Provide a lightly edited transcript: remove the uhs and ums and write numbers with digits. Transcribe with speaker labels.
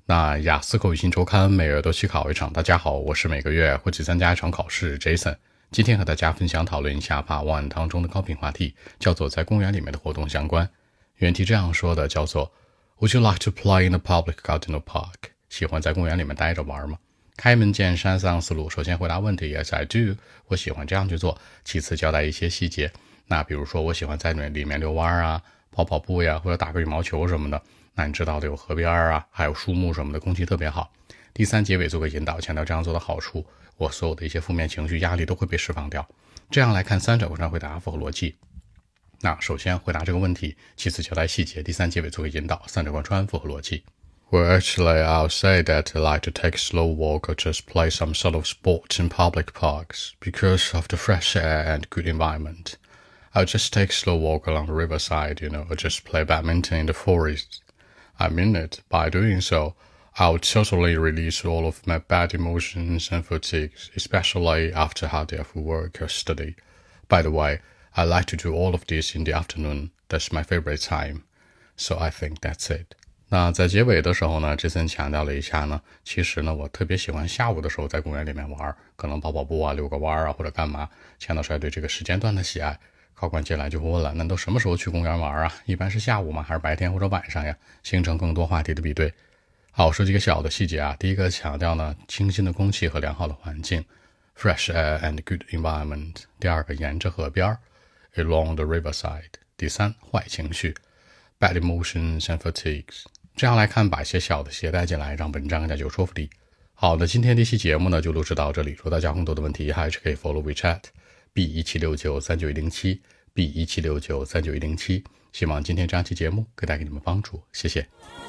Speaker 1: 那雅思口语新周刊每月都期考一场。大家好，我是每个月会去参加一场考试 Jason。今天和大家分享讨论一下 Part 1当中的高频话题，叫做在公园里面的活动相关。原题这样说的，叫做 Would you like to play in a public garden or park？ 喜欢在公园里面待着玩吗？开门见山3思路，首先回答问题 Yes I do， 我喜欢这样去做。其次交代一些细节，那比如说我喜欢在里面遛弯啊，跑跑步呀，或者打个羽毛球什么的。那你知道的，有河边啊，还有树木什么的，空气特别好。第三，结尾做个引导，强调这样做的好处，我所有的一些负面情绪压力都会被释放掉。这样来看，三者上回答符合逻辑。那首先回答这个问题，其次交代细节，第三结尾做个引导，三者贯穿符合逻辑。Well, actually, I'll say that I like to take a slow walk or just play some sort of sport in public parks because of the fresh air and good environment. I'll just take a slow walk along the riverside, or just play badminton in the forest.I mean it. By doing so, I'll totally release all of my bad emotions and fatigues, especially after hard day of work or study. By the way, I like to do all of this in the afternoon. That's my favorite time. So I think that's it. 那在结尾的时候呢，Jason强调了一下呢，其实呢，我特别喜欢下午的时候在公园里面玩，可能跑跑步啊，遛个弯啊，或者干嘛。强调出来对这个时间段的喜爱。考官接下来就会问了，那都什么时候去公园玩啊？一般是下午吗？还是白天或者晚上呀？形成更多话题的比对。好，说几个小的细节啊。第一个强调呢，清新的空气和良好的环境 ，fresh air and good environment。第二个，沿着河边 ，along the riverside。第三，坏情绪 ，bad emotions and fatigues。这样来看，把一些小的携带进来，让文章更加有说服力。好的，今天这期节目呢就录制到这里。如果大家更多的问题，还是可以 follow WeChat。B17693911 B17693911，希望今天这样期节目可以带给你们帮助，谢谢。